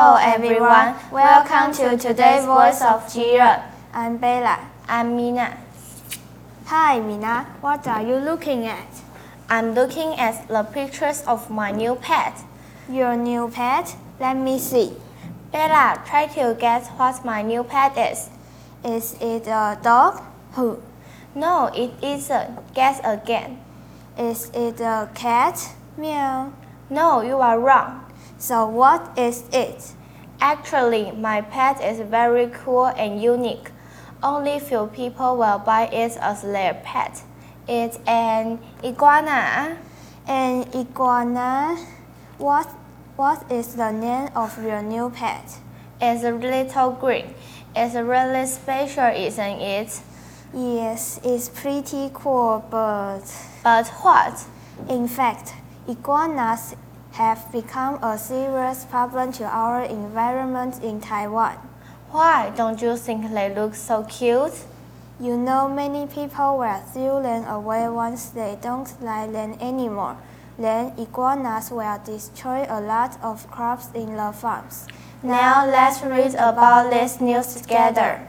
Hello everyone, welcome to today's Voice of Jiren. I'm Bella. I'm Mina. Hi Mina, what are you looking at? I'm looking at the pictures of my new pet. Your new pet? Let me see. Bella, try to guess what my new pet is. Is it a dog? Who? No, it isn't. Guess again. Is it a cat? Meow. No, you are wrong. So what is it? Actually, my pet is very cool and unique. Only few people will buy it as their pet. It's an iguana. An iguana? What is the name of your new pet? It's a little green. It's really special, isn't it? Yes, it's pretty cool, but... But what? In fact, iguanas have become a serious problem to our environment in Taiwan. Why? Don't you think they look so cute? You know, many people will throw them away once they don't like them anymore. Then iguanas will destroy a lot of crops in the farms. Now let's read about this news together.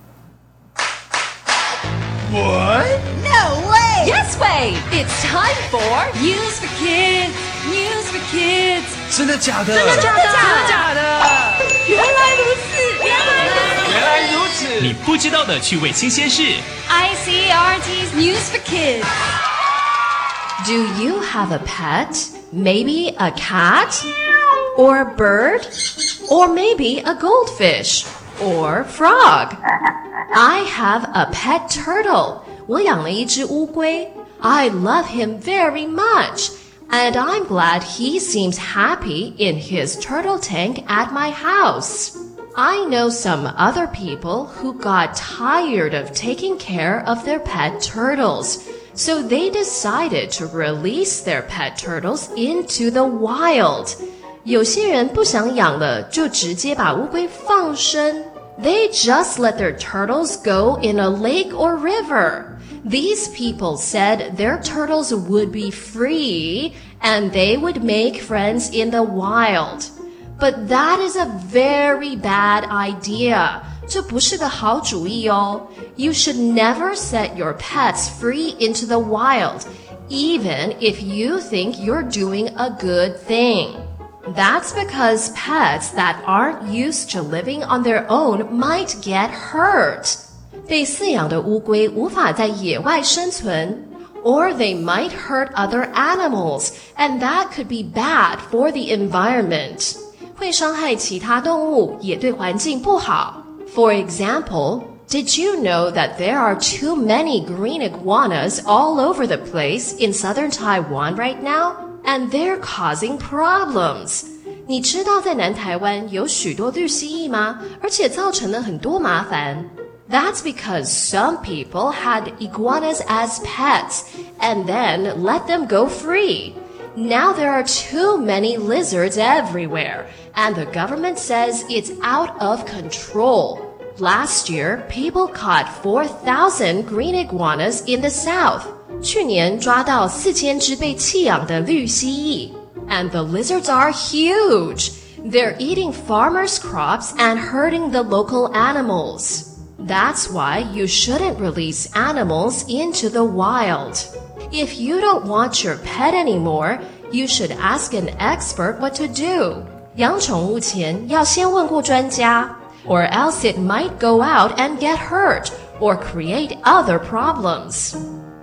What? No way! Yes way! It's time for News for Kids! News for Kids! 真的假的？ 真的假的？ 真的假的？ 原来如此！ 原来如此！ 你不知道的趣味新鲜事。 ICRT's News for Kids. Do you have a pet? Maybe a cat? Or a bird? Or maybe a goldfish? Or frog? I have a pet turtle. 我養了一隻烏龜。I love him very much. And I'm glad he seems happy in his turtle tank at my house. I know some other people who got tired of taking care of their pet turtles, so they decided to release their pet turtles into the wild. 有些人不想養了，就直接把烏龜放生。They just let their turtles go in a lake or river. These people said their turtles would be free and they would make friends in the wild. But that is a very bad idea. 这不是个好主意哦。You should never set your pets free into the wild, even if you think you're doing a good thing. That's because pets that aren't used to living on their own might get hurt. 被饲養的烏龜無法在野外生存 or they might hurt other animals, and that could be bad for the environment. 會傷害其他動物，也對環境不好。For example, did you know that there are too many green iguanas all over the place in southern Taiwan right now? And they're causing problems. 你知道在南台灣有許多綠蜥蜴嗎？而且造成了很多麻煩。That's because some people had iguanas as pets and then let them go free. Now there are too many lizards everywhere, and the government says it's out of control. Last year, people caught 4,000 green iguanas in the south. 去年抓到4000只被棄養的綠蜥蜴 and the lizards are huge. They're eating farmers' crops and hurting the local animals. That's why you shouldn't release animals into the wild. If you don't want your pet anymore, you should ask an expert what to do. 養寵物前要先問過專家 or else it might go out and get hurt or create other problems.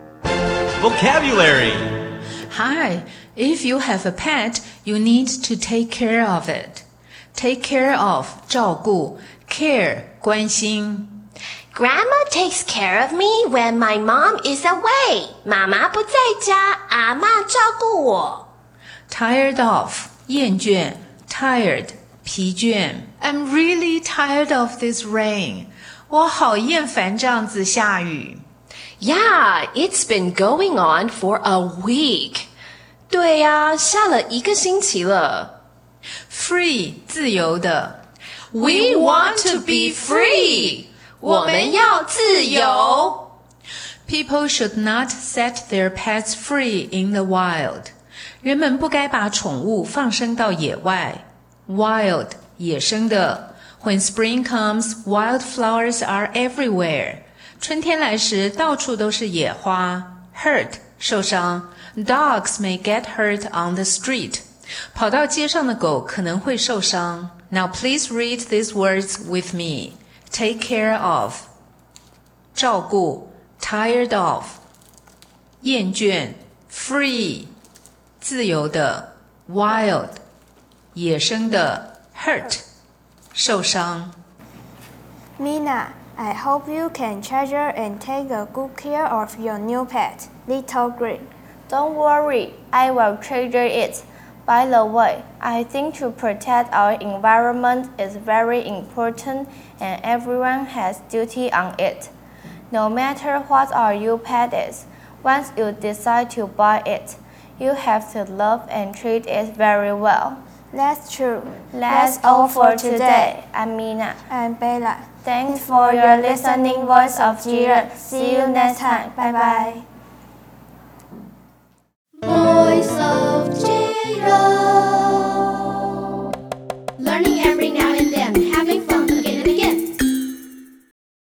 Vocabulary. Hi, if you have a pet, you need to take care of it. Take care of 照顧 care 關心 Grandma takes care of me when my mom is away. 媽媽不在家，阿嬷照顧我。 Tired of 厭倦 tired 疲倦 I'm really tired of this rain. 我好厭煩這樣子下雨。 Yeah, it's been going on for a week. 對呀，下了一個星期了。 Free 自由的 We want to be free. 我們要自由。 People should not set their pets free in the wild. 人們不該把寵物放生到野外。Wild 野生的。When spring comes, wildflowers are everywhere. 春天来時，到處都是野花。Hurt 受傷。Dogs may get hurt on the street. 跑到街上的狗可能會受傷。Now please read these words with me. Take care of. 照顧 tired of. 厭倦 free. 自由的 wild. 野生的 hurt. 受傷。 Mina, I hope you can treasure and take a good care of your new pet, Little Green. Don't worry, I will treasure it. By the way, I think to protect our environment is very important and everyone has duty on it. No matter what your pet is, once you decide to buy it, you have to love and treat it very well. That's true. That's all for today. I'm Mina. I'm Bella. Thanks for your listening Voice of Jiren. See you next time. Bye bye.